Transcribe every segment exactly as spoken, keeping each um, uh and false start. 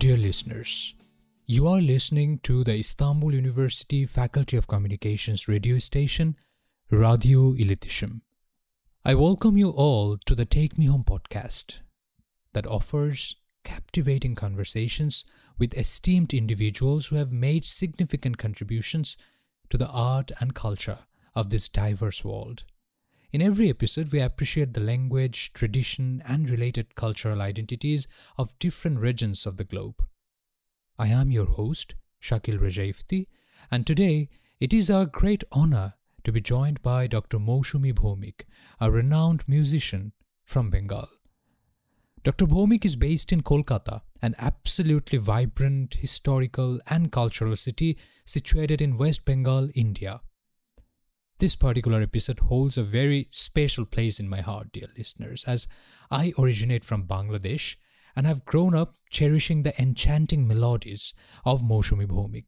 Dear listeners, you are listening to the Istanbul University Faculty of Communications radio station, Radio İletişim. I welcome you all to the Take Me Home podcast that offers captivating conversations with esteemed individuals who have made significant contributions to the art and culture of this diverse world. In every episode, we appreciate the language, tradition, and related cultural identities of different regions of the globe. I am your host, Shakil Rajaifti, and today it is our great honor to be joined by Doctor Mousumi Bhowmik, a renowned musician from Bengal. Doctor Bhowmik is based in Kolkata, an absolutely vibrant, historical, and cultural city situated in West Bengal, India. This particular episode holds a very special place in my heart, dear listeners, as I originate from Bangladesh and have grown up cherishing the enchanting melodies of Mousumi Bhowmik.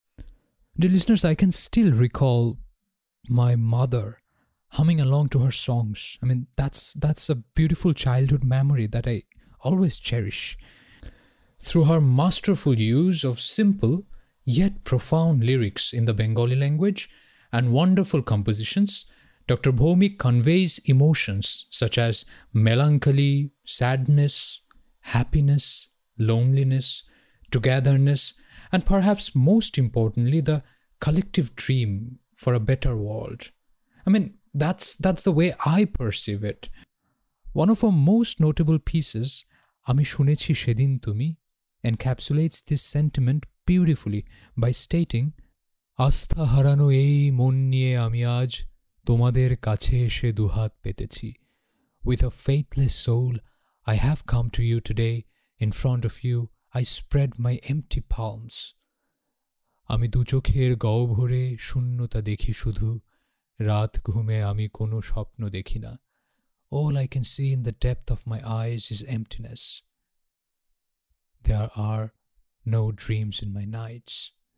Dear listeners, I can still recall my mother humming along to her songs. I mean, that's that's a beautiful childhood memory that I always cherish. Through her masterful use of simple yet profound lyrics in the Bengali language and wonderful compositions, Doctor Bhowmik conveys emotions such as melancholy, sadness, happiness, loneliness, togetherness, and perhaps most importantly, the collective dream for a better world. I mean, that's that's the way I perceive it. One of her most notable pieces, Ami Shunechi Shedin Tumi, encapsulates this sentiment beautifully by stating, আস্থা হারানো এই মন নিয়ে আমি আজ তোমাদের কাছে এসে দুহাত পেতেছি. With a faithless soul, I have come to you today. In front of you, I spread my empty palms. আমি দু চোখের গহ্বরে শূন্যতা দেখি শুধু, রাত ঘুমে আমি কোনো স্বপ্ন দেখি না. All I can see in the depth of my eyes is emptiness. There are no dreams in my nights.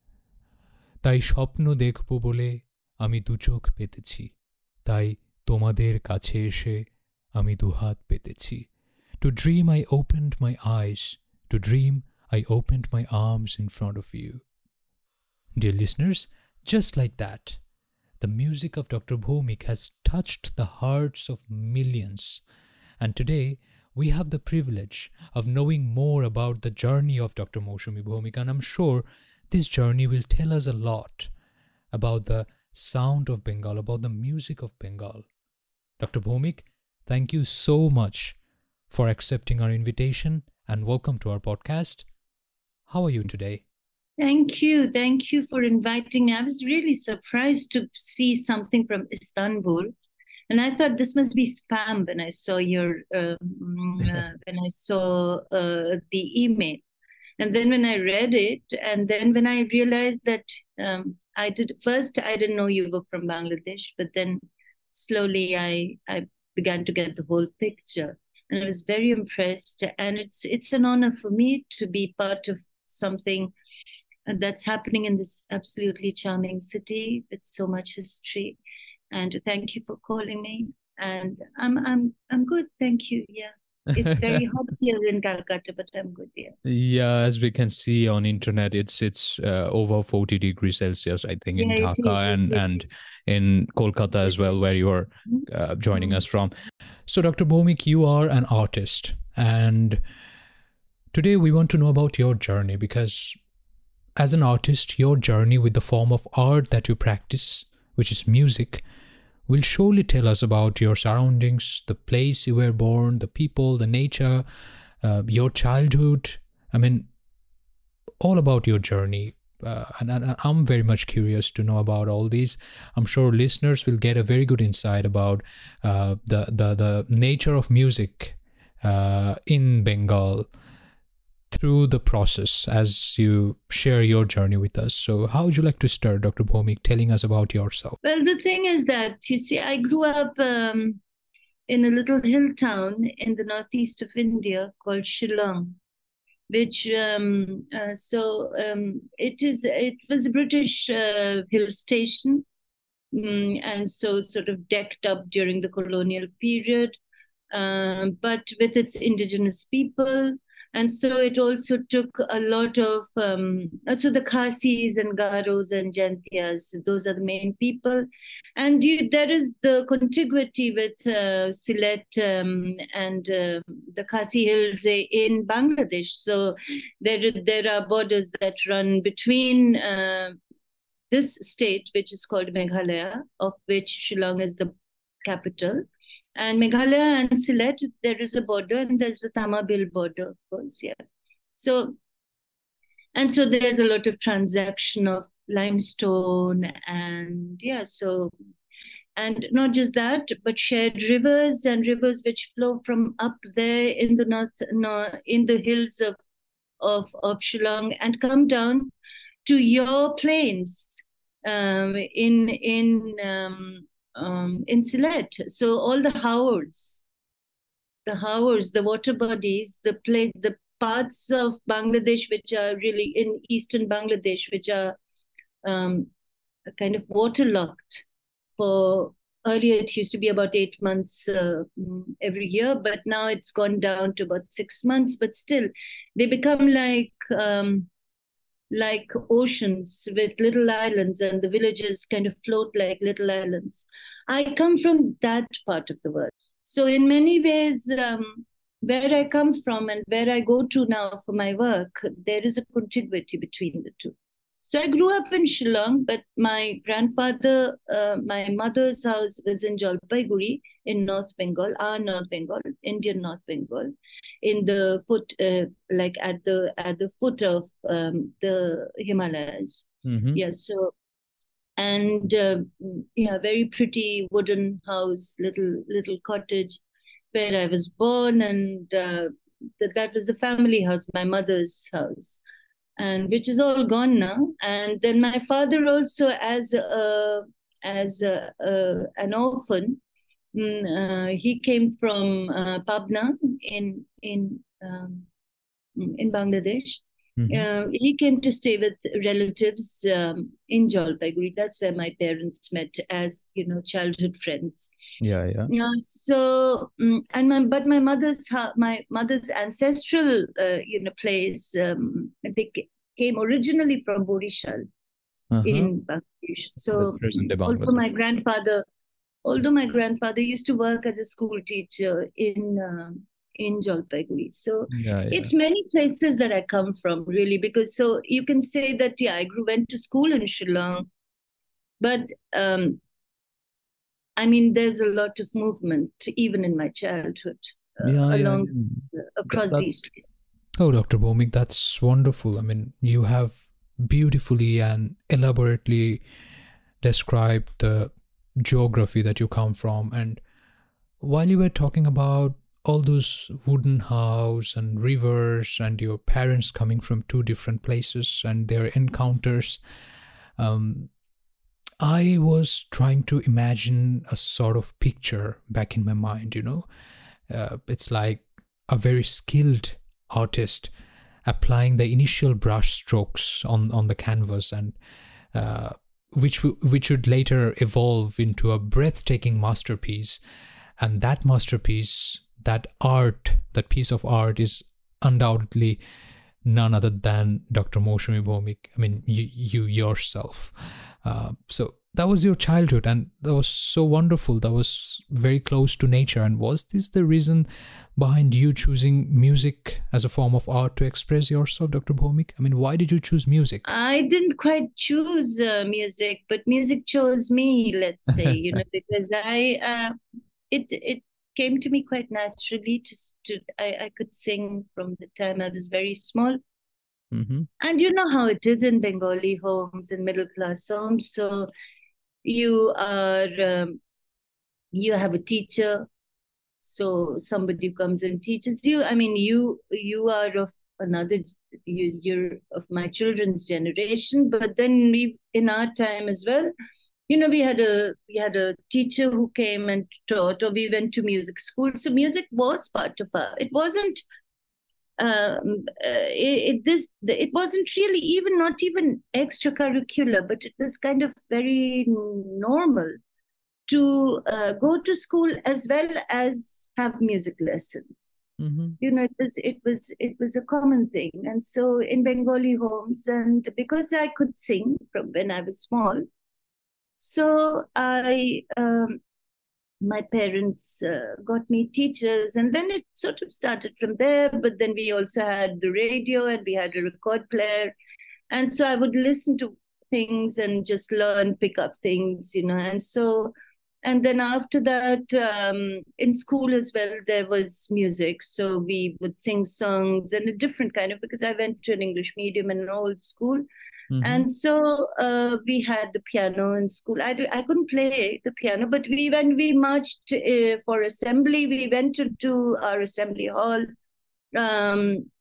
তাই স্বপ্ন দেখব বলে আমি দু চোখ পেতেছি, তাই তোমাদের কাছে এসে আমি দুহাত পেতেছি. To dream I opened my eyes, to dream I opened my arms in front of you. Dear listeners, just like that, the music of Doctor Bhowmik has touched the hearts of millions, and today we have the privilege of knowing more about the journey of Doctor Mousumi Bhowmik, and I'm sure this journey will tell us a lot about the sound of Bengal, about the music of Bengal. Doctor Bhowmik, thank you so much for accepting our invitation and welcome to our podcast. How are you today? Thank you. Thank you for inviting me. I was really surprised to see something from Istanbul. And I thought this must be spam when I saw your, uh, uh, when I saw uh, the email. And then when I read it, and then when I realized that um, I did, first I didn't know you were from Bangladesh, but then slowly I, I began to get the whole picture. And I was very impressed. And it's it's an honor for me to be part of something that's happening in this absolutely charming city with so much history. And thank you for calling me. And I'm I'm I'm good, thank you. Yeah. It's very hot here in Calcutta, but I'm good here. Yeah, as we can see on internet, it's it's uh, over forty degrees Celsius, I think, in Yeah, it Dhaka is, it and, is. and in Kolkata as well, where you are uh, joining Mhm. us from. So, Doctor Bhowmik, you are an artist, and today we want to know about your journey, because as an artist, your journey with the form of art that you practice, which is music, will surely tell us about your surroundings, the place you were born, the people, the nature, uh, your childhood. I mean, all about your journey. Uh, and, and I'm very much curious to know about all these. I'm sure listeners will get a very good insight about uh, the, the, the nature of music uh, in Bengal through the process as you share your journey with us. So how would you like to start, Doctor Bhowmik, telling us about yourself? Well, the thing is that, you see, I grew up um, in a little hill town in the northeast of India called Shillong, which, um, uh, so um, it is, it was a British uh, hill station, um, and so sort of decked up during the colonial period, uh, but with its indigenous people. And so it also took a lot of, um, so the Khasis and Garos and Jaintias, those are the main people. And you, there is the contiguity with uh, Sylhet um, and uh, the Khasi Hills in Bangladesh. So there, there are borders that run between uh, this state, which is called Meghalaya, of which Shillong is the capital. And Meghalaya and Sylhet, there is a border, and there's the Tamabil border, of course, yeah. So, and so there's a lot of transaction of limestone, and yeah, so, and not just that, but shared rivers and rivers which flow from up there in the north, no, in the hills of, of, of Shillong and come down to your plains um, in, in, um, Um, in Sylhet. So all the haors, the haors, the water bodies, the play, the parts of Bangladesh which are really in eastern Bangladesh, which are um, kind of waterlogged for, earlier it used to be about eight months uh, every year, but now it's gone down to about six months. But still, they become like um, like oceans with little islands, and the villages kind of float like little islands. I come from that part of the world. So in many ways, um, where I come from and where I go to now for my work, there is a contiguity between the two. So I grew up in Shillong, but my grandfather, uh, my mother's house was in Jalpaiguri in North Bengal, our North Bengal, Indian North Bengal, in the foot, uh, like at the at the foot of um, the Himalayas. Mm-hmm. Yeah, so, and uh, yeah, very pretty wooden house, little little cottage where I was born, and uh, th- that was the family house, my mother's house, and which is all gone now. And then my father also, as a, as a, uh, an orphan, mm, uh, he came from uh, Pabna in in um, in Bangladesh. Mm-hmm. Uh, he came to stay with relatives um, in Jalpaiguri. That's where my parents met as, you know, childhood friends. Yeah, yeah. Yeah. So, um, and my but my mother's my mother's ancestral, uh, you know, place. Um, they came originally from Borishal uh-huh. in Bangladesh. So, although my grandfather, although my grandfather used to work as a school teacher in. Uh, in Jalpaiguri. So yeah, yeah. It's many places that I come from, really, because so you can say that, yeah, I grew, went to school in Shillong, but um, I mean, there's a lot of movement, even in my childhood, uh, yeah, along yeah. Uh, across That's, these. Oh, Doctor Bhowmik, that's wonderful. I mean, you have beautifully and elaborately described the geography that you come from. And while you were talking about all those wooden house and rivers and your parents coming from two different places and their encounters, um, I was trying to imagine a sort of picture back in my mind, you know. Uh, it's like a very skilled artist applying the initial brush strokes on, on the canvas, and uh, which, which would later evolve into a breathtaking masterpiece. And that masterpiece, that art, that piece of art is undoubtedly none other than Doctor Mousumi Bhowmik. I mean, you, you yourself. Uh, so that was your childhood, and that was so wonderful. That was very close to nature. And was this the reason behind you choosing music as a form of art to express yourself, Doctor Bhowmik? I mean, why did you choose music? I didn't quite choose uh, music, but music chose me, let's say, you know, because I, uh, it, it, came to me quite naturally. To, to I, I could sing from the time I was very small. Mm-hmm. And you know how it is in Bengali homes and middle class homes. So you are, um, you have a teacher. So somebody who comes and teaches you. I mean, you you are of another, you, you're of my children's generation. But then we, in our time as well, you know, we had a we had a teacher who came and taught, or we went to music school. So music was part of our. It wasn't. Um, uh, it, it this it wasn't really even not even extracurricular, but it was kind of very normal to uh, go to school as well as have music lessons. Mm-hmm. You know, it was it was it was a common thing. And so in Bengali homes, and because I could sing from when I was small, so I um, my parents uh, got me teachers, and then it sort of started from there. But then we also had the radio, and we had a record player, and so I would listen to things and just learn, pick up things, you know. And so, and then after that, um, in school as well, there was music. So we would sing songs and a different kind of, because I went to an English medium and an old school. Mm-hmm. And so uh, we had the piano in school. I, I couldn't play the piano, but we when we marched uh, for assembly, we went to, to our assembly hall, um,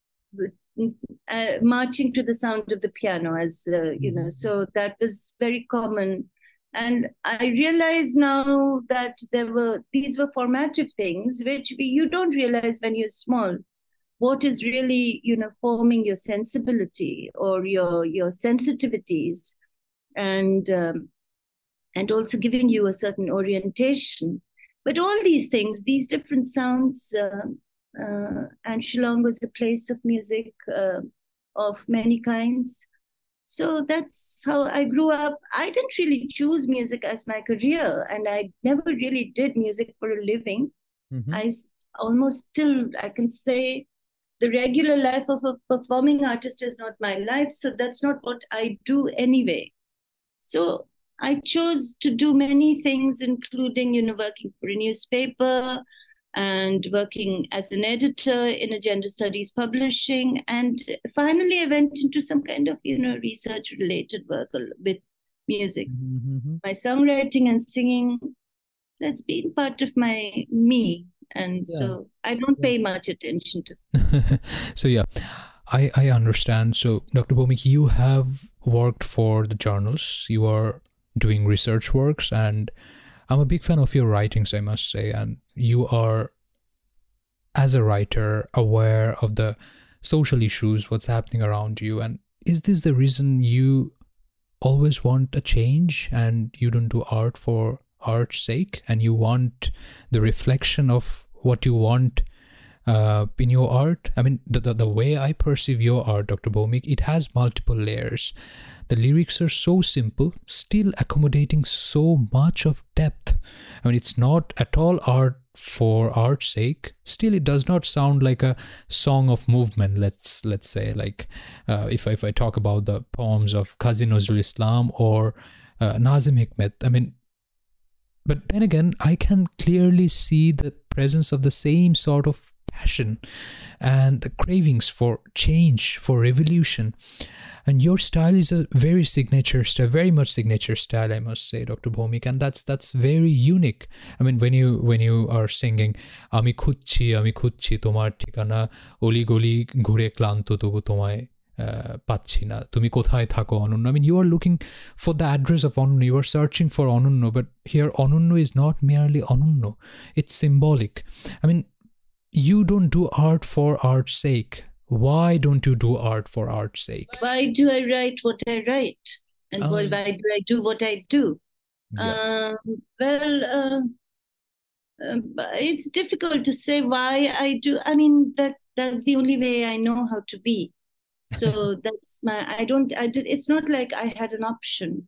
uh, marching to the sound of the piano, as uh, you know. So that was very common. And I realize now that there were these were formative things which we, you don't realize when you're small. What is really, you know, forming your sensibility or your your sensitivities, and um, and also giving you a certain orientation. But all these things, these different sounds, uh, uh, and Shillong was a place of music uh, of many kinds. So that's how I grew up. I didn't really choose music as my career, and I never really did music for a living. Mm-hmm. I almost still, I can say, the regular life of a performing artist is not my life. So that's not what I do anyway. So I chose to do many things, including, you know, working for a newspaper and working as an editor in a gender studies publishing. And finally, I went into some kind of, you know, research related work with music. Mm-hmm. My songwriting and singing, that's been part of my me. And yeah. so I don't pay much attention to. So yeah, I, I understand. So Doctor Bhowmik, you have worked for the journals, you are doing research works, and I'm a big fan of your writings, I must say. And you are, as a writer, aware of the social issues, what's happening around you. And is this the reason you always want a change and you don't do art for art's sake, and you want the reflection of what you want uh, in your art? I mean, the, the, the way I perceive your art, Doctor Bhowmik, it has multiple layers. The lyrics are so simple, still accommodating so much of depth. I mean, it's not at all art for art's sake. Still, it does not sound like a song of movement, let's let's say. Like, uh, if, if I talk about the poems of Qazi Nazrul Islam or uh, Nazim Hikmet, I mean, but then again, I can clearly see the presence of the same sort of passion and the cravings for change, for revolution. And your style is a very signature style, very much signature style, I must say, Doctor Bhowmik, and that's that's very unique. I mean, when you when you are singing, "Ami khujchi, ami khujchi tomar ঠিকানা, oli goli ঘুরে ক্লান্ত তবু তোমায় পাচ্ছি না, তুমি কোথায় থাকো অনন্য." I mean, you are looking for the address of Onunno, you are searching for Onunno, but here Onunno is not merely Onunno, it's symbolic. I mean, you don't do art for art's sake. Why don't you do art for art's sake? Why do I write what I write? And um, why do I do what I do? Yeah. Um, well, uh, uh, it's difficult to say why I do. I mean, that that's the only way I know how to be. So that's my, I don't, I did, it's not like I had an option.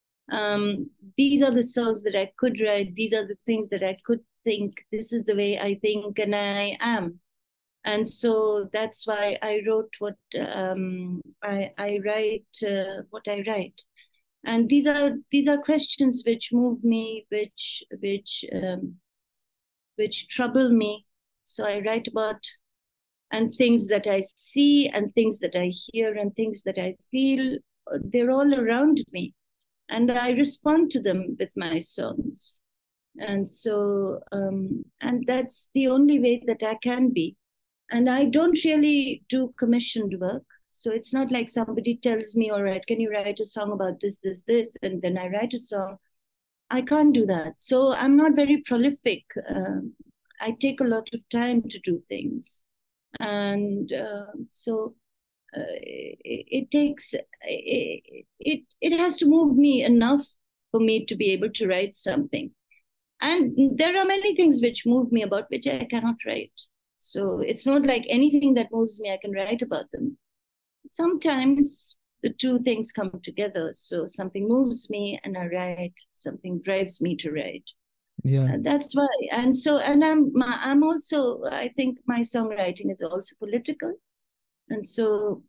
Um, these are the songs that I could write. These are the things that I could think. This is the way I think and I am. And so that's why I wrote what um, I, I write, uh, what I write. And these are, these are questions which move me, which, which, um, which trouble me. So I write about, and things that I see and things that I hear and things that I feel, they're all around me. And I respond to them with my songs. And so, um, and that's the only way that I can be. And I don't really do commissioned work. So it's not like somebody tells me, all right, can you write a song about this, this, this? And then I write a song. I can't do that. So I'm not very prolific. Um, I take a lot of time to do things. And uh, so uh, it, it takes, it, it, it has to move me enough for me to be able to write something. And there are many things which move me about which I cannot write. So it's not like anything that moves me, I can write about them. Sometimes the two things come together. So something moves me and I write, something drives me to write. Yeah. Uh, that's why. And so, and I'm, I'm also, I think my songwriting is also political. And so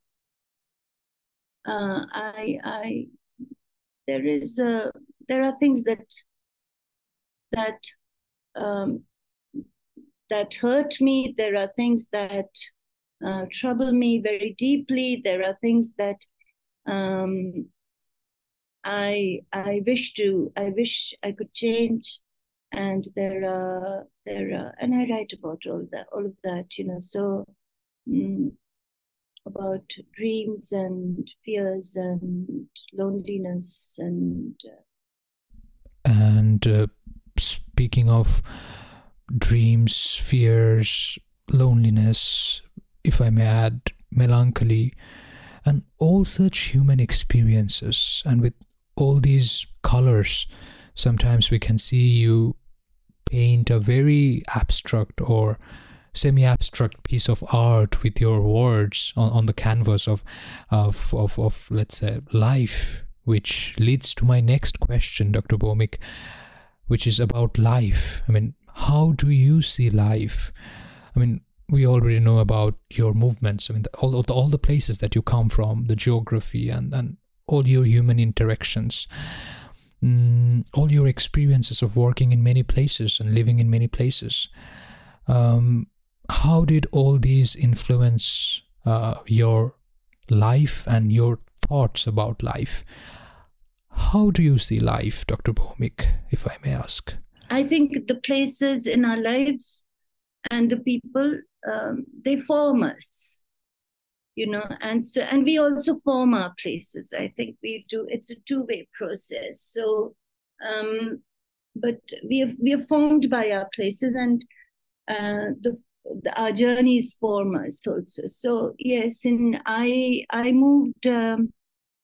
uh, I, I, there is, uh, there are things that, that, um, that hurt me. There are things that uh, trouble me very deeply. There are things that um, I I wish to I wish I could change, and there are there are and I write about all that all of that, you know. So mm, about dreams and fears and loneliness and. Uh, And uh, speaking of dreams, fears, loneliness, if I may add, melancholy, and all such human experiences, and with all these colors, sometimes we can see you paint a very abstract or semi-abstract piece of art with your words on, on the canvas of, of, of, of, let's say, life, which leads to my next question, Doctor Bhowmik, which is about life. I mean, how do you see life? I mean, we already know about your movements. I mean, the, all, the, all the places that you come from, the geography and, and all your human interactions, mm, all your experiences of working in many places and living in many places. Um, how did all these influence uh, your life and your thoughts about life? How do you see life, Doctor Bhowmik, if I may ask? I think the places in our lives and the people, um, they form us, you know, and so and we also form our places. I think we do. It's a two-way process. So, um, but we have we are formed by our places, and uh, the, the our journeys form us also. So yes, and I I moved. Um,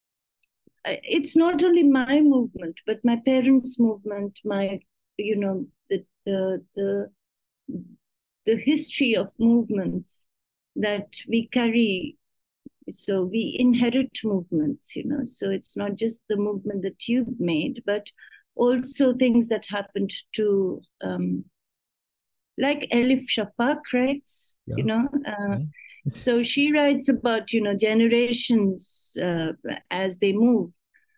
it's not only my movement, but my parents' movement. My you know the the the the history of movements that we carry. So we inherit movements, you know. So it's not just the movement that you've made, but also things that happened to, um, like Elif Shafak writes, yeah. you know. Uh, yeah. So she writes about, you know, generations uh, as they move,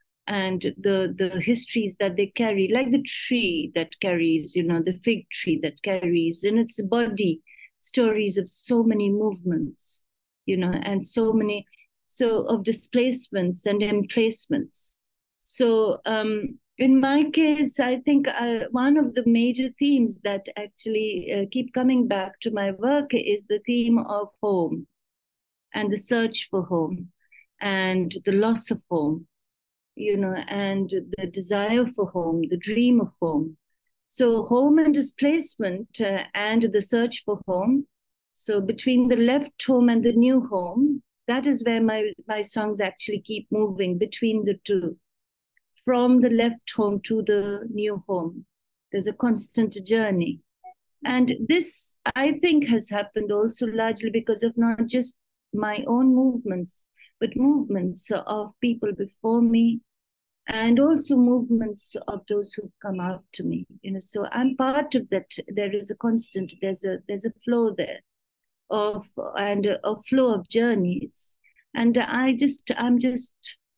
and the the histories that they carry, like the tree that carries, you know, the fig tree that carries in its body stories of so many movements, you know, and so many, so of displacements and emplacements. So um, in my case, I think uh, one of the major themes that actually uh, keep coming back to my work is the theme of home and the search for home and the loss of home, you know, and the desire for home, the dream of home. So home and displacement uh, and the search for home. So between the left home and the new home, that is where my, my songs actually keep moving, between the two. From the left home to the new home, there's a constant journey. And this, I think, has happened also largely because of not just my own movements, but movements of people before me, and also movements of those who've come after me. You know, so I'm part of that. There is a constant, there's a there's a flow there of and a, a flow of journeys. And I just I'm just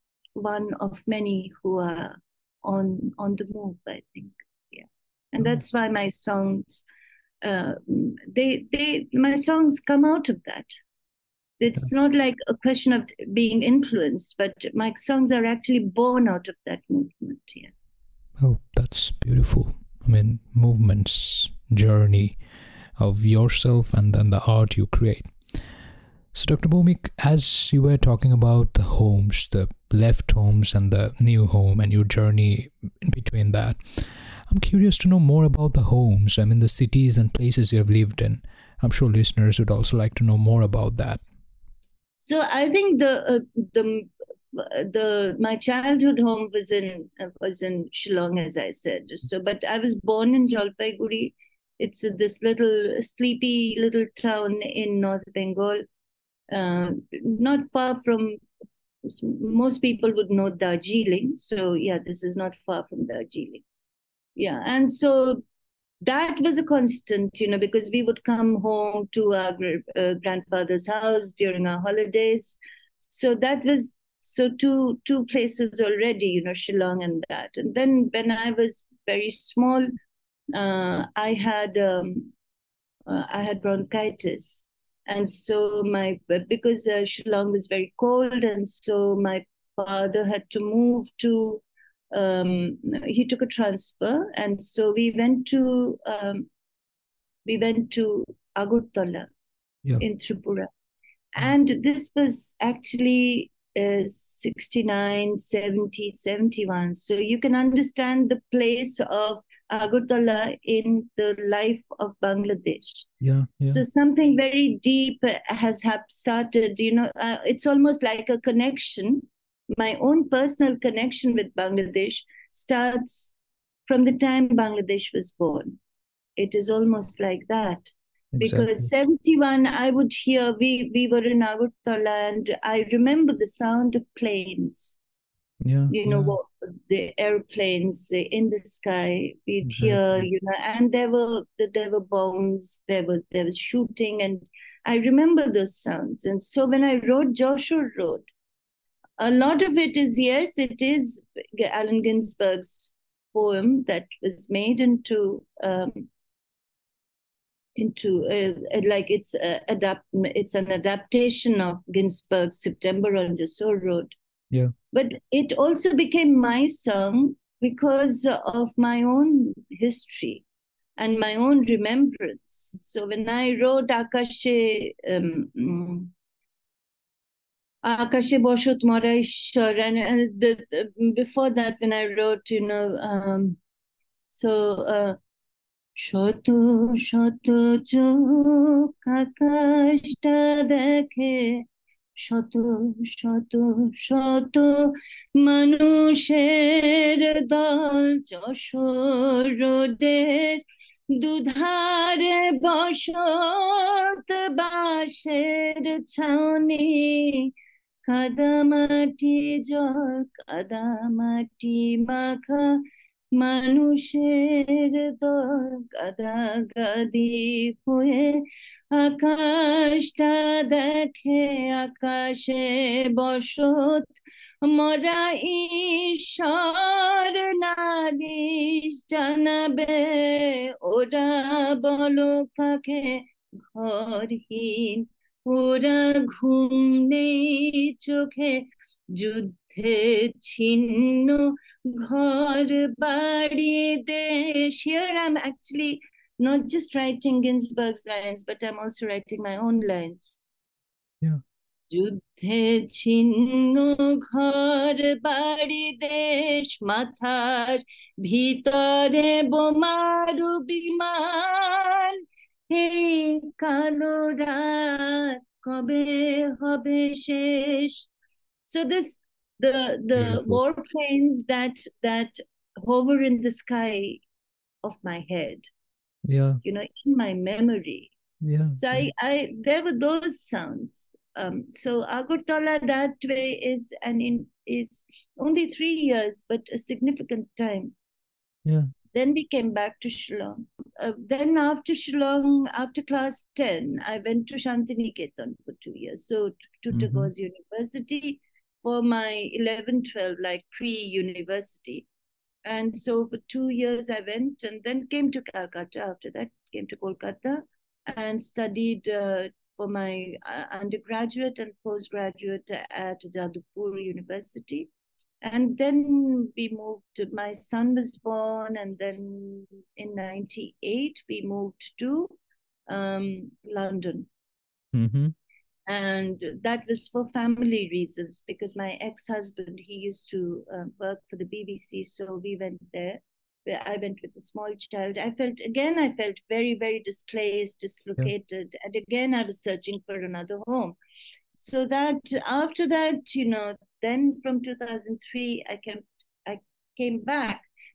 one of many who are on on the move, I think. Yeah. And that's why my songs uh, they they my songs come out of that. It's not like a question of being influenced, but my songs are actually born out of that movement. Yeah. Oh, that's beautiful. I mean, movements, journey of yourself and then the art you create. So, Doctor Bhowmik, as you were talking about the homes, the left homes and the new home and your journey in between that, I'm curious to know more about the homes. I mean, the cities and places you have lived in. I'm sure listeners would also like to know more about that. So I think the uh, the the my childhood home was in uh, was in Shillong, as I said. So, but I was born in Jalpaiguri. It's this little sleepy little town in North Bengal, uh, not far from, most people would know Darjeeling. So yeah, this is not far from Darjeeling. Yeah, and so that was a constant, you know, because we would come home to our uh, grandfather's house during our holidays. So that was, so two two places already, you know, Shillong and that. And then when I was very small, uh, I had um, uh, I had bronchitis, and so my because uh, Shillong was very cold, and so my father had to move to. Um, he took a transfer, and so we went to um, we went to Agartala Yeah. in Tripura, and this was actually uh, sixty-nine, seventy, seventy-one. So you can understand the place of Agartala in the life of Bangladesh. Yeah, yeah. So something very deep has have started, you know, uh, it's almost like a connection. My own personal connection with Bangladesh starts from the time Bangladesh was born. It is almost like that. Exactly. Because seventy-one, I would hear, we, we were in Agartala, and I remember the sound of planes. Yeah, you know, yeah. what, the airplanes in the sky. We'd Exactly. hear, you know, and there were there were bombs, there were there was shooting, and I remember those sounds. And so when I wrote Joshua Road, a lot of it is, yes, it is Allen Ginsberg's poem that was made into um, into uh, like it's uh, adapt it's an adaptation of Ginsberg's September on Joshua Road. Yeah. But it also became my song because of my own history and my own remembrance. So when I wrote Akashe, um, Akashe Boshot Moraishwar, and, and the, the, before that, when I wrote, you know, um, so uh, Shoto Shoto Chok Akashta Dekhe, শত শত শত মানুষের দল যশোর রোডের দুধারে বসত বাঁশের ছাউনি কাদামাটি জল কাদামাটি মাখা মানুষের দল গাদাগাদি হয়ে আকাশটা দেখে আকাশে বসত মরা ঈশ্বর নালিশ জানাবে ওরা বলো কাকে ঘরহীন ওরা ঘুম নেই চোখে যুদ্ধে ছিন্ন ঘর বাড়ি দেশ. Here I'm actually not just writing Ginsberg's lines, but I'm also writing my own lines. Yeah. যুদ্ধে ছিন্ন ঘর বাড়ি দেশ মাথার ভিতরে বোমারু বিমান এই কালো রাত কবে হবে শেষ. So this the the Beautiful. warplanes that that hover in the sky of my head, Yeah. you know, in my memory. Yeah. So yeah. I, I there were those sounds. Um, so Agartala that way is and in is only three years, but a significant time. Yeah. Then we came back to Shillong. Uh, then after Shillong, after class ten, I went to Shantiniketan for two years. So to Mhm. Tagore University for my eleven, twelve, like pre-university. And so for two years I went, and then came to Calcutta. After that, came to Kolkata and studied uh, for my uh, undergraduate and postgraduate at Jadavpur University. And then we moved, my son was born, and then in ninety-eight, we moved to um, London. Mm-hmm. And that was for family reasons, because my ex-husband, he used to uh, work for the B B C, so we went there. I went with a small child. I felt, again, I felt very, very displaced, dislocated. Yeah. And again, I was searching for another home. So that after that, you know, then from two thousand three, I came, I came back.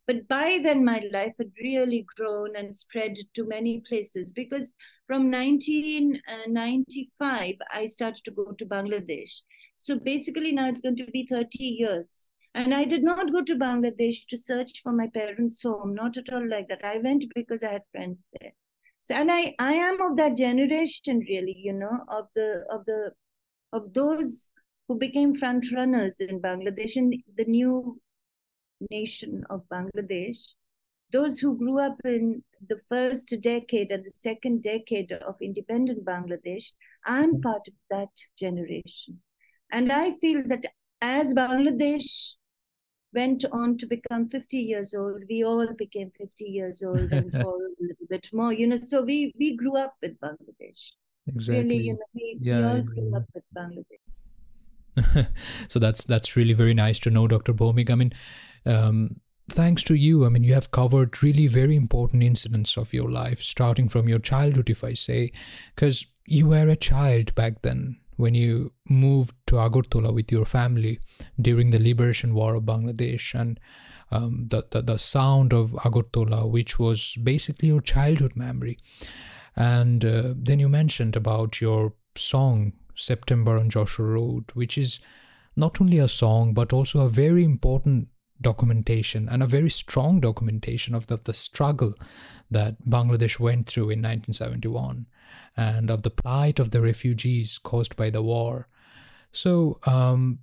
But by then, my life had really grown and spread to many places, because from nineteen ninety-five, I started to go to Bangladesh. So basically now it's going to be thirty years. And I did not go to Bangladesh to search for my parents' home, not at all like that. I went because I had friends there. So, and I, I am of that generation, really, you know, of the of the of those who became front runners in Bangladesh, in the new nation of Bangladesh. Those who grew up in the first decade and the second decade of independent Bangladesh, I'm part of that generation. And I feel that as Bangladesh went on to become fifty years old, we all became fifty years old and or a little bit more, you know, so we, we grew up with Bangladesh. Exactly. Really, you know, we, yeah, we all yeah, grew yeah. up with Bangladesh. So that's that's really very nice to know, Doctor Bhowmik. I mean, um, thanks to you, I mean, you have covered really very important incidents of your life, starting from your childhood, if I say, because you were a child back then when you moved to Agartala with your family during the liberation war of Bangladesh, and um, the, the the sound of Agartala, which was basically your childhood memory. And uh, then you mentioned about your song September on Joshua Road, which is not only a song but also a very important documentation and a very strong documentation of the, the struggle that Bangladesh went through in nineteen seventy-one and of the plight of the refugees caused by the war. So um,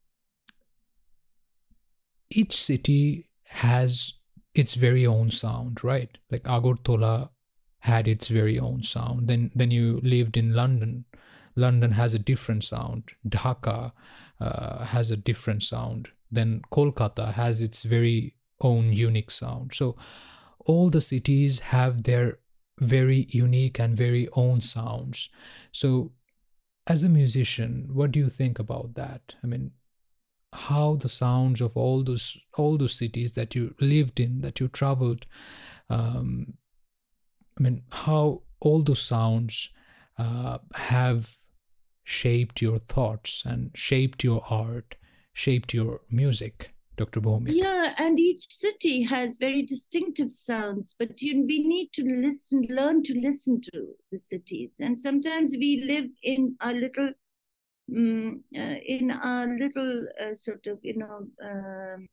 each city has its very own sound, right? Like Agartala had its very own sound. Then, then you lived in London. London has a different sound. Dhaka uh, has a different sound. Then Kolkata has its very own unique sound. So all the cities have their very unique and very own sounds. So as a musician, what do you think about that? I mean, how the sounds of all those all those cities that you lived in, that you traveled, um, I mean, how all those sounds uh, have shaped your thoughts and shaped your art, shaped your music, Doctor Bhowmik? Yeah, and each city has very distinctive sounds, but you, we need to listen, learn to listen to the cities. And sometimes we live in a little, um, uh, in a little uh, sort of, you know, um,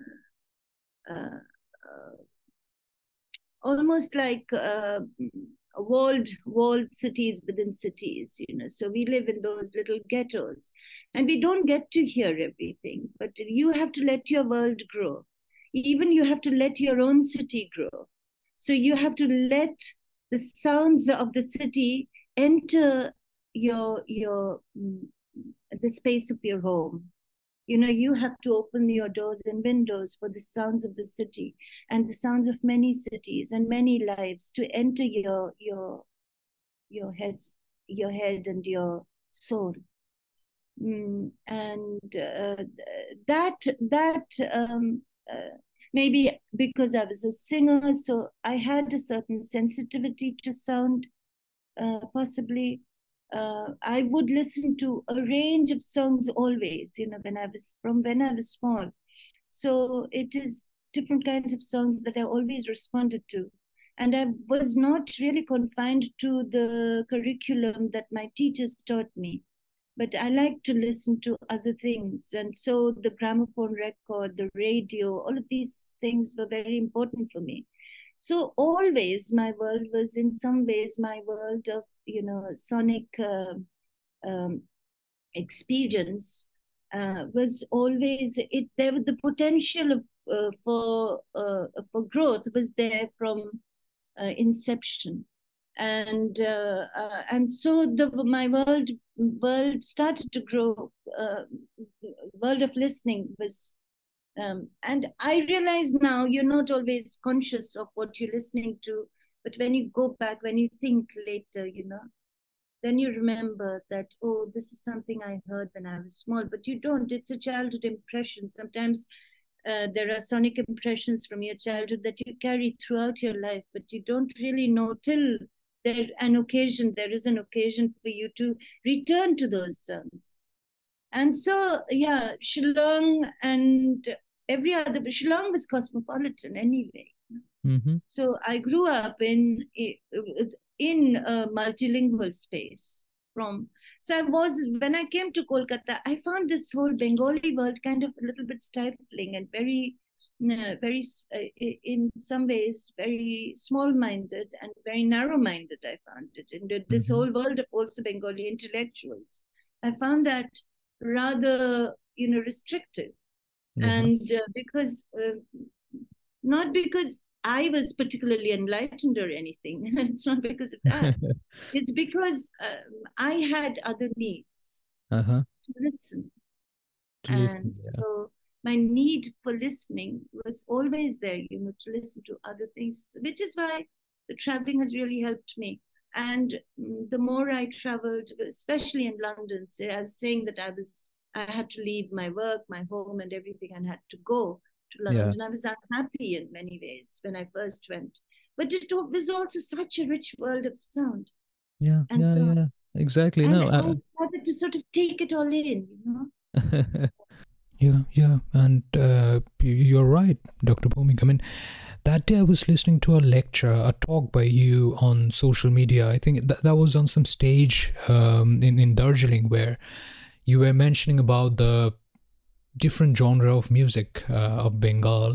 uh, uh, almost like uh, walled walled cities within cities, you know. So we live in those little ghettos, and we don't get to hear everything. But you have to let your world grow. Even you have to let your own city grow. So you have to let the sounds of the city enter your your the space of your home. You know, you have to open your doors and windows for the sounds of the city and the sounds of many cities and many lives to enter your your your heads, your head and your soul. Mm, and uh, that that um, uh, maybe because I was a singer, so I had a certain sensitivity to sound, uh, possibly. Uh, I would listen to a range of songs always, you know, when I was from when I was small. So it is different kinds of songs that I always responded to. And I was not really confined to the curriculum that my teachers taught me, but I like to listen to other things. And so the gramophone record, the radio, all of these things were very important for me. So always my world was in some ways my world of, you know, sonic uh, um, experience uh, was always it. There was the potential of uh, for uh, for growth was there from uh, inception, and uh, uh, and so the my world world started to grow. Uh, world of listening was. Um, and I realize now you're not always conscious of what you're listening to, but when you go back, when you think later, you know, then you remember that, oh, this is something I heard when I was small, but you don't. It's a childhood impression. Sometimes uh, there are sonic impressions from your childhood that you carry throughout your life, but you don't really know till there an occasion, there is an occasion for you to return to those sounds. And so, yeah, Shillong and every other, but Shillong was cosmopolitan anyway. Mm-hmm. So I grew up in in a multilingual space. From so I was when I came to Kolkata, I found this whole Bengali world kind of a little bit stifling and very, uh, very uh, in some ways very small-minded and very narrow-minded. I found it in this mm-hmm. whole world of also Bengali intellectuals. I found that rather, you know, restrictive, mm-hmm. and uh, because uh, not because I was particularly enlightened or anything. It's not because of that. It's because um, I had other needs uh-huh. to listen. To and listen, yeah. So my need for listening was always there, you know, to listen to other things, which is why the traveling has really helped me. And the more I traveled, especially in London, say, I was saying that I was, I had to leave my work, my home and everything and had to go to London. Yeah. I was unhappy in many ways when I first went, but it was also such a rich world of sound. Yeah, and yeah, sounds. yeah, exactly. And no, I, I... I started to sort of take it all in, you know. yeah, yeah, and uh, you're right, Doctor Bhumika. I mean, that day I was listening to a lecture, a talk by you on social media. I think that, that was on some stage um, in, in Darjeeling, where you were mentioning about the different genre of music uh, of Bengal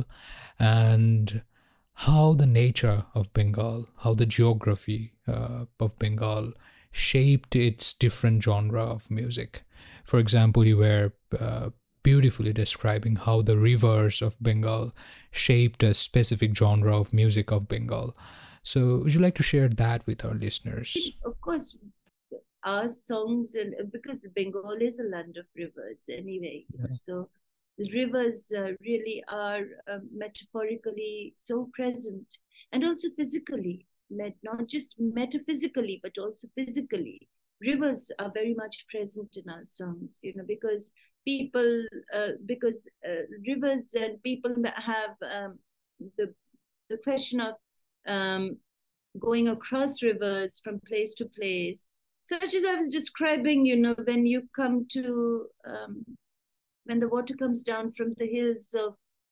and how the nature of Bengal, how the geography uh, of Bengal shaped its different genre of music. For example, you were uh, beautifully describing how the rivers of Bengal shaped a specific genre of music of Bengal. So would you like to share that with our listeners? Of course, our songs, and because Bengal is a land of rivers anyway, yeah. So the rivers uh, really are uh, metaphorically so present, and also physically, met, not just metaphysically, but also physically. Rivers are very much present in our songs, you know, because people, uh, because uh, rivers and people have um, the, the question of um, going across rivers from place to place, such as I was describing, you know, when you come to, um, when the water comes down from the hills of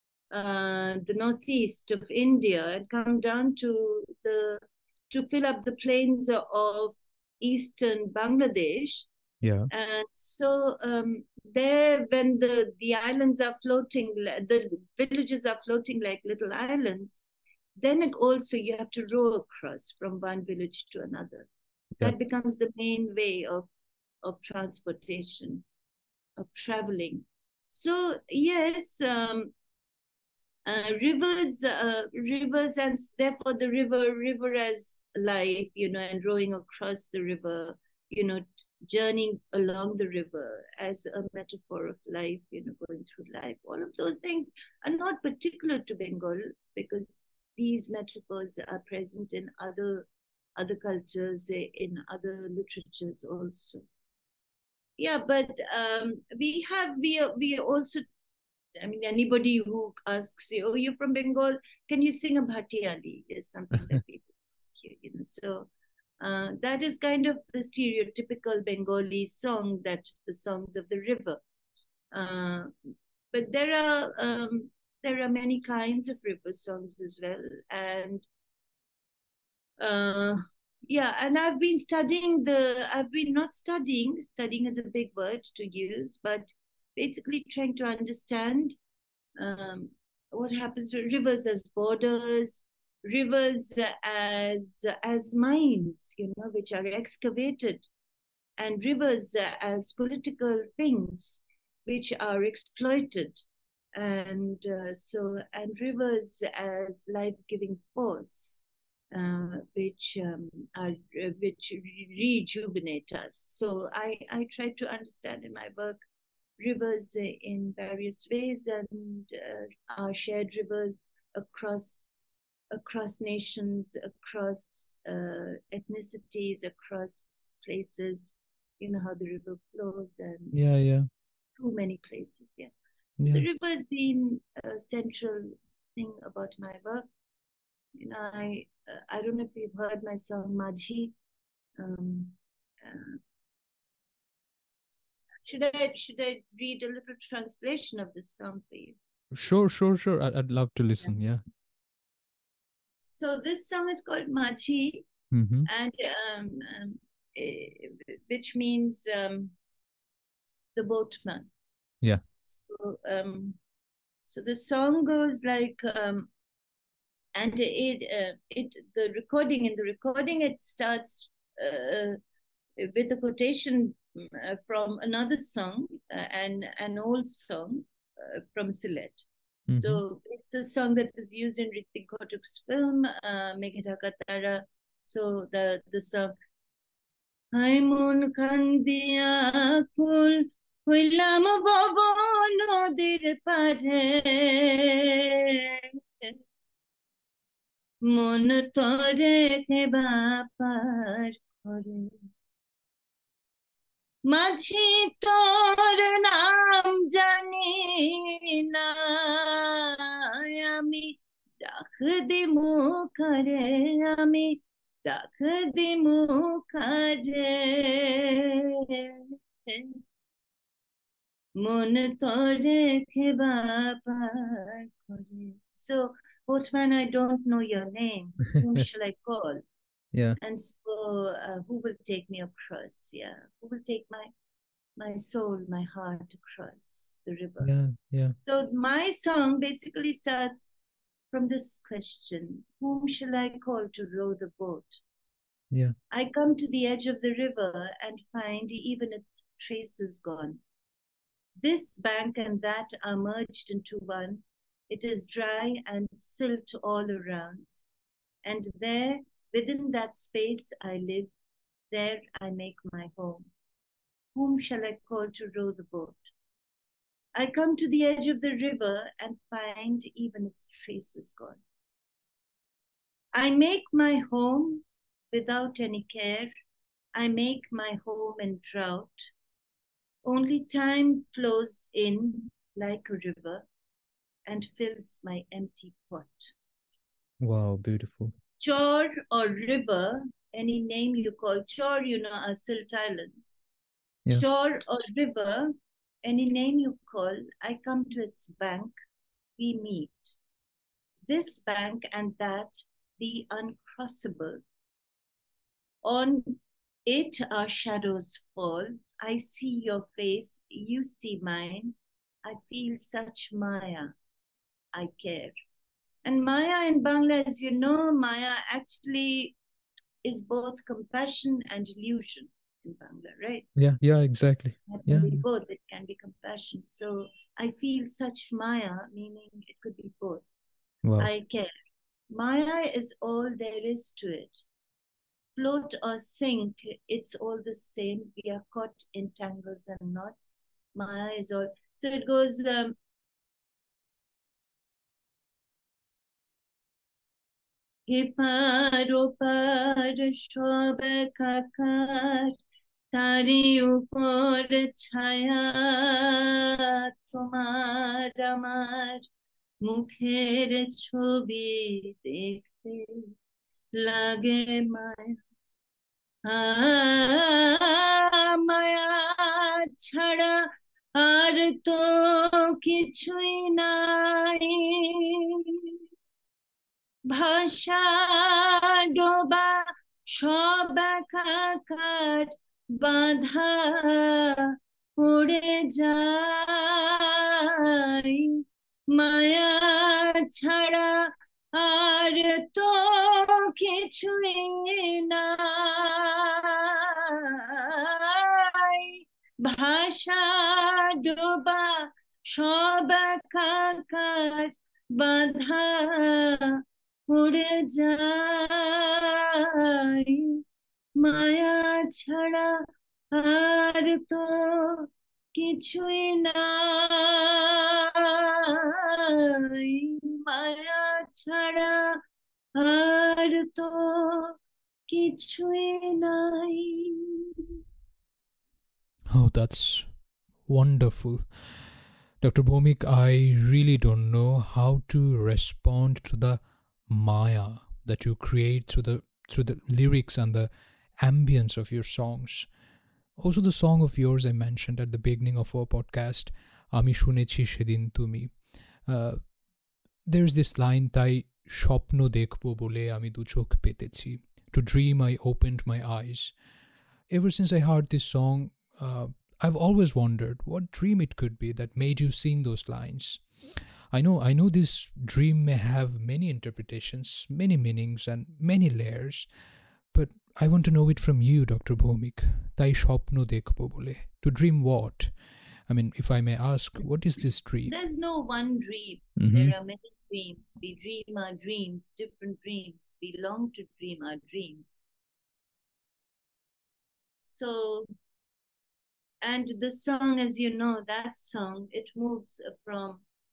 uh, the northeast of India and come down to the, to fill up the plains of eastern Bangladesh. Yeah. And so um, there, when the, the islands are floating, the villages are floating like little islands, then it also you have to row across from one village to another. Yeah. That becomes the main way of, of transportation, of traveling. So yes, um, uh, rivers, uh, rivers, and therefore the river, river as life, you know, and rowing across the river, you know, journeying along the river as a metaphor of life, you know, going through life. All of those things are not particular to Bengal, because these metaphors are present in other other cultures, in other literatures also. Yeah, but um, we have we we also. I mean, anybody who asks you, "Oh, you're from Bengal? Can you sing a Bhatiyali?" is something that people ask you. You know, so uh, that is kind of the stereotypical Bengali song, that the songs of the river. Uh, but there are um, there are many kinds of river songs as well, and uh, yeah, and I've been studying the. I've been not studying. Studying is a big word to use, but basically trying to understand um, what happens to rivers as borders, rivers as as mines, you know, which are excavated, and rivers as political things which are exploited, and uh, so and rivers as life-giving force, uh, which um, are uh, which rejuvenate us. So I I try to understand in my work rivers in various ways, and uh, our shared rivers across across nations, across uh, ethnicities, across places. You know how the river flows, and yeah, yeah, too many places. Yeah, so yeah. The river has been a central thing about my work. You know, I uh, I don't know if you've heard my song Majhi. Um, uh, Should I should I read a little translation of this song for you? Sure, sure, sure. I'd, I'd love to listen. Yeah. So this song is called Machi, Mm-hmm. and um, um, eh, which means um, the boatman. Yeah. So um, so the song goes like, um, and it uh, it the recording in the recording it starts uh, with a quotation uh, from another song, uh, and an old song uh, from Sylhet. Mm-hmm. So it's a song that was used in Hrithik Ghatuk's film uh, Meghe Dhaka Tara. So the the song Hai mon kandiya kul হইলাম ভব নদীর পাড়ে মন তরে বাপার করে মাঝি তোর নাম জানি না আমি ডাক দিমু করে আমি ডাক দিমু করে মন তোরে বাপার করে. So, Boatman, I don't know your name. Whom shall I call? Yeah. And so, uh, who will take me across? Yeah, who will take my my soul, my heart across the river? Yeah. Yeah. So my song basically starts from this question: whom shall I call to row the boat? Yeah. I come to the edge of the river and find even its traces gone. This bank and that are merged into one. It is dry and silt all around. And there, within that space I live, there I make my home. Whom shall I call to row the boat? I come to the edge of the river and find even its traces gone. I make my home without any care. I make my home in drought. Only time flows in like a river and fills my empty pot. Wow, beautiful. Chor or river, any name you call. Chor, you know, are Silt Islands. Yeah. Chor or river, any name you call, I come to its bank, we meet. This bank and that, the uncrossable. On it our shadows fall. I see your face, you see mine. I feel such Maya. I care. And Maya in Bangla, as you know, Maya actually is both compassion and illusion in Bangla, right? Yeah, yeah, exactly. It can Yeah. be both, it can be compassion. So I feel such Maya, meaning it could be both. Wow. I care. Maya is all there is to it. Float or sink, it's all the same. We are caught in tangles and knots. Maya is all. So it goes, um, এপার ওপার সব একাকার, তারই উপর ছায়া তোমার আমার মুখের ছবি দেখতে লাগে মায়া। মায়া ছাড়া আর তো কিছুই নাই, ভাষা ডোবা সব একাকার, বাঁধা উড়ে যায়। মায়া ছাড়া আর তো কিছুই নাই, ভাষা ডোবা সব একাকার, বাঁধা উড়ে যায়। মায়া ছাড়া আর তো কিছুই নাই, মায়া ছাড়া আর তো কিছুই নাই। Oh, that's wonderful. Doctor Bhomik, I really don't know how to respond to the Maya that you create through the through the lyrics and the ambience of your songs. Also, the song of yours I mentioned at the beginning of our podcast, Ami Shunechi Shedin Tumi. Uh, there's this line, তাই স্বপ্ন দেখবো বলে আমি দু চোখ পেতেছি. To dream I opened my eyes. Ever since I heard this song, uh, I've always wondered what dream it could be that made you sing those lines. I know, I know this dream may have many interpretations, many meanings, and many layers, but I want to know it from you, Doctor Bhomik. তাই স্বপ্ন দেখবো বলে. To dream what? I mean, if I may ask, what is this dream? There's no one dream. Mhm. There are many dreams. We dream our dreams, different dreams. We long to dream our dreams. So, and the song, as you know, that song, it moves from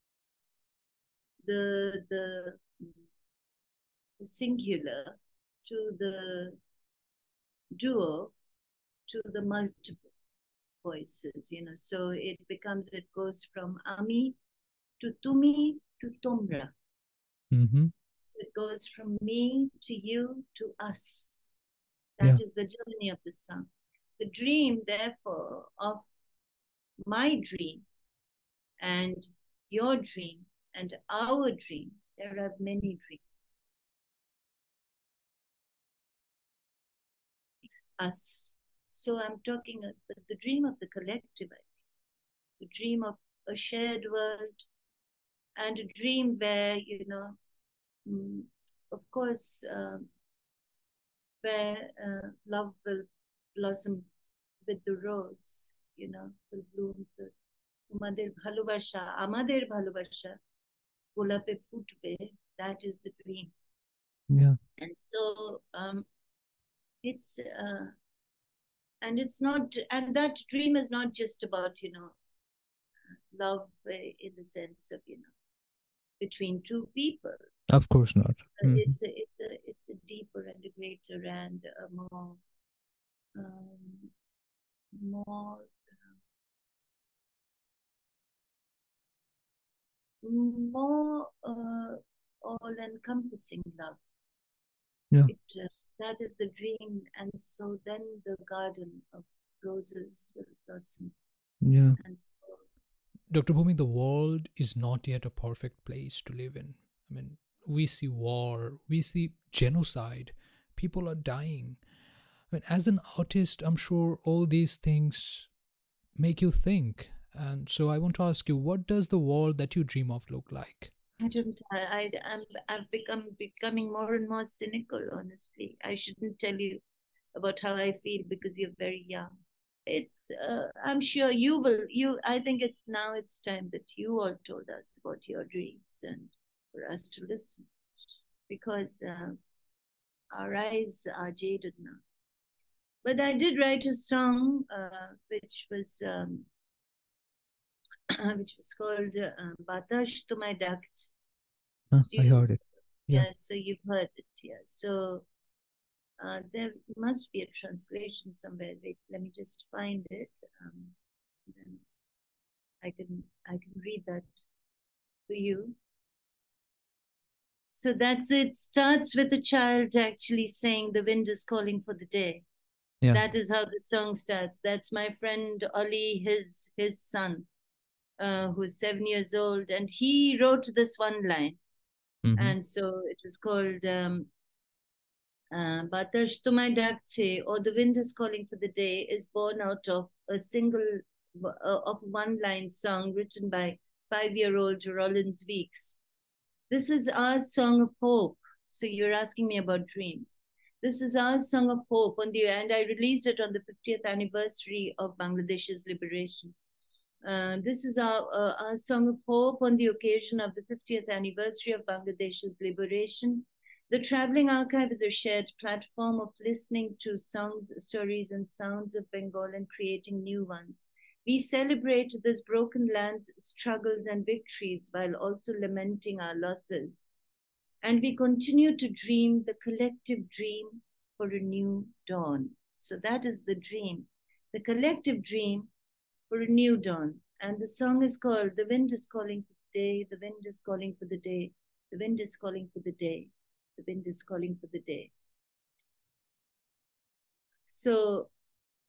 the, the, the singular to the duo to the multiple voices, you know. So it becomes, it goes from Ami to Tumi to Tomra. Mm-hmm. So it goes from me to you to us. That Yeah. is the journey of the song. The dream, therefore, of my dream and your dream and our dream, there are many dreams. Us. So I'm talking about the dream of the collective, I think. The dream of a shared world and a dream where, you know, mm, of course, um, where uh, love will blossom with the rose, you know, will bloom. The, তোমাদের ভালোবাসা, আমাদের ভালোবাসা, গোলাপে ফুটবে, that is the dream. Yeah. And so um, it's, uh, and it's not, and that dream is not just about, you know, love uh, in the sense of, you know, between two people. Of course not. Uh, Mhm. It's a, it's a, it's a deeper and a greater and a more, um, more, uh, more uh, all-encompassing love. Yeah. It, uh, that is the dream, and so then the garden of roses will blossom. Yeah. And so, Doctor Bhumi, the world is not yet a perfect place to live in. I mean, we see war, we see genocide, people are dying. I mean, as an artist, I'm sure all these things make you think. And so I want to ask you, what does the world that you dream of look like? I don't, I, I, I'm, I've become becoming more and more cynical, honestly. I shouldn't tell you about how I feel because you're very young. It's, uh, I'm sure you will, you, I think it's now it's time that you all told us about your dreams and for us to listen, because uh, our eyes are jaded now. But I did write a song uh, which was um, which was called uh, Batash Tumai Dakt. Huh, So I you- heard it. Yeah. Yeah, so you've heard it, yeah. So uh, there must be a translation somewhere. Wait, let me just find it. Um, then I can I can read that to you. So that's it. Starts with a child actually saying the wind is calling for the day. Yeah. That is how the song starts. That's my friend Oli, his his son, uh, who's seven years old, and he wrote this one line. Mhm. And so it was called um, uh, Batash Tumai Dakche, or The Wind is Calling for the Day, is born out of a single, uh, of one line song written by five-year-old Rollins Weeks. This is our song of hope. So you're asking me about dreams. This is our song of hope on the, and I released it on the fiftieth anniversary of Bangladesh's liberation. Uh, this is our, uh, our song of hope on the occasion of the fiftieth anniversary of Bangladesh's liberation. The Traveling Archive is a shared platform of listening to songs, stories, and sounds of Bengal and creating new ones. We celebrate this broken land's struggles and victories while also lamenting our losses. And we continue to dream the collective dream for a new dawn. So that is the dream, the collective dream for a new dawn. And the song is called The Wind is Calling for the Day, the wind is calling for the day, the wind is calling for the day, the wind is calling for the day. So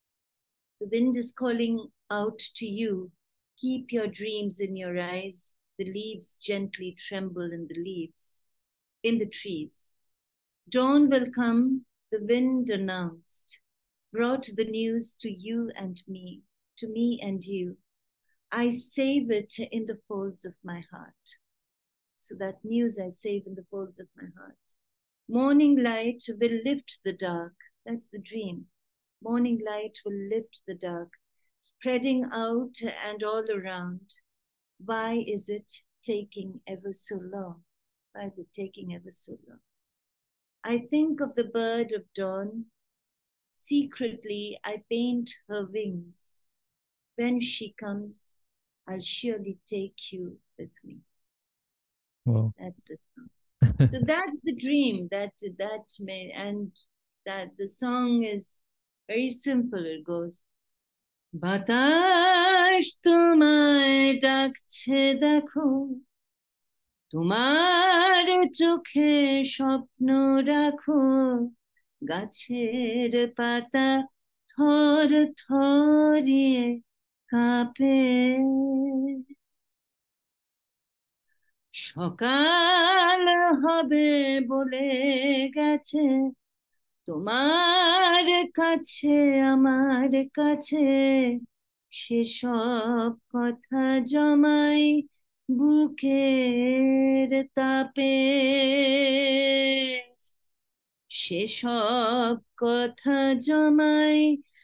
the wind is calling out to you. Keep your dreams in your eyes. The leaves gently tremble in the leaves, in the trees. Dawn will come, the wind announced, brought the news to you and me, to me and you. I save it in the folds of my heart. So that news I save in the folds of my heart. Morning light will lift the dark. That's the dream. Morning light will lift the dark, spreading out and all around. Why is it taking ever so long? Why is it taking ever so long? I think of the bird of dawn. Secretly, I paint her wings. When she comes, I'll surely take you with me. Wow. That's the song. So that's the dream that that may, and that the song is very simple. It goes, বাতাস তোমায় ডাকছে দেখো, তোমার চোখে স্বপ্ন রাখো, গাছের পাতা থর থরিয়ে কাঁপে। সকাল হবে বলে গেছে, তোমার কাছে আমার কাছে, সেসব কথা জমাই বুকের তাপে, সেসব কথা জমাই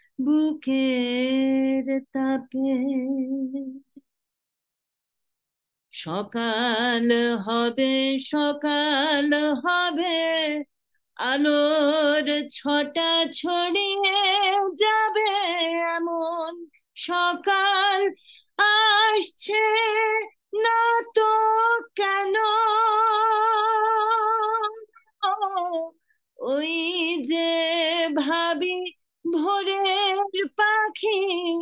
বুকের তাপে। সকাল হবে সকাল হবে, আলোর ছটা ছড়িয়ে যাবে, এমন সকাল আসছে না তো কেন? ওই যে ভাবি ভোরের পাখি,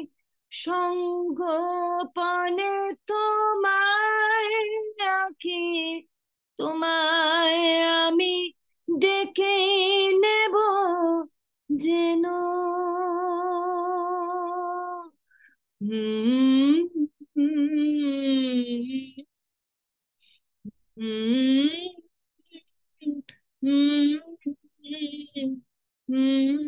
সঙ্গোপনে তোমায় রাখি, তোমায় আমি ডেকে নেব যেন। হুম হুম হুম হুম।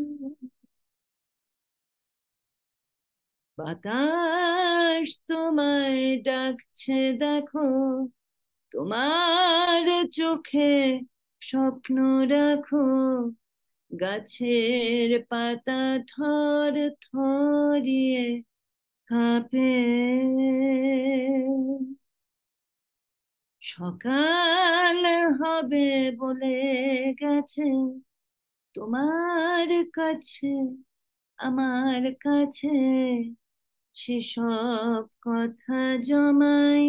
বাতাস তোমায় ডাকছে দেখো, তোমার চোখে স্বপ্ন রাখো, গাছের পাতা থর থরিয়ে কাঁপে। সকাল হবে বলে গেছে, তোমার কাছে আমার কাছে, সেসব কথা জমাই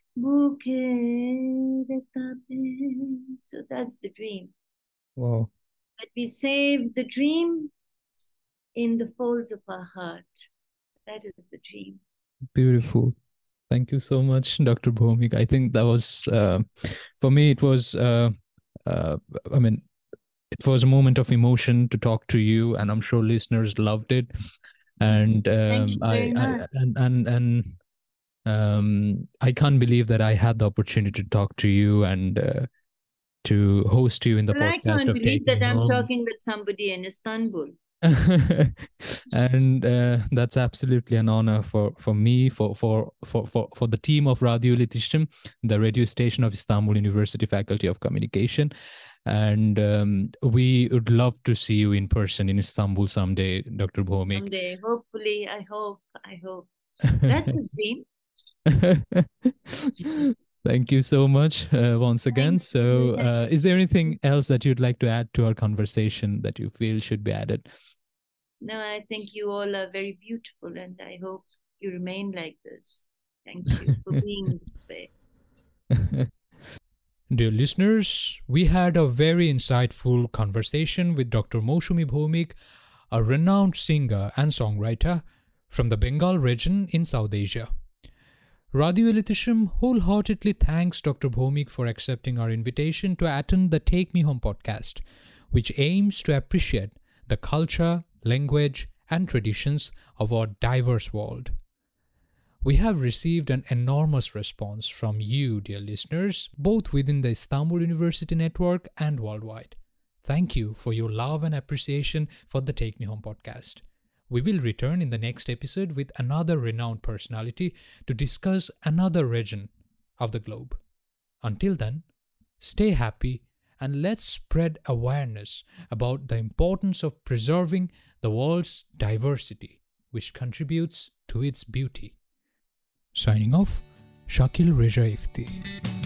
বুকের তাপে। So that's the dream. Wow. But we save the dream in the folds of our heart. That is the dream. Beautiful. Thank you so much, Doctor Bhomik. I think that was, uh, for me, it was, uh, uh, I mean, it was a moment of emotion to talk to you, and I'm sure listeners loved it. And um, Thank you very I, I much. and and and um, I can't believe that I had the opportunity to talk to you and uh, to host you in the Well, I podcast can't of believe Take that Me I'm Home. talking with somebody in Istanbul. And uh, that's absolutely an honor for for me, for for for for, for the team of Radio Iletişim, the radio station of Istanbul University Faculty of Communication. And um, we would love to see you in person in Istanbul someday, Doctor Bhomik. Someday, hopefully, I hope, I hope. That's a dream. Thank you so much uh, once again. Thank So, you. Thank uh, is there anything else that you'd like to add to our conversation that you feel should be added? No, I think you all are very beautiful, and I hope you remain like this. Thank you for being this way. Dear listeners, we had a very insightful conversation with Doctor Moushumi Bhomik, a renowned singer and songwriter from the Bengal region in South Asia. Radio Iletişim wholeheartedly thanks Doctor Bhomik for accepting our invitation to attend the Take Me Home podcast, which aims to appreciate the culture, language, and traditions of our diverse world. We have received an enormous response from you, dear listeners, both within the Istanbul University network and worldwide. Thank you for your love and appreciation for the Take Me Home podcast. We will return in the next episode with another renowned personality to discuss another region of the globe. Until then, stay happy and let's spread awareness about the importance of preserving the world's diversity, which contributes to its beauty. Signing off, Shakil Reza Ifti.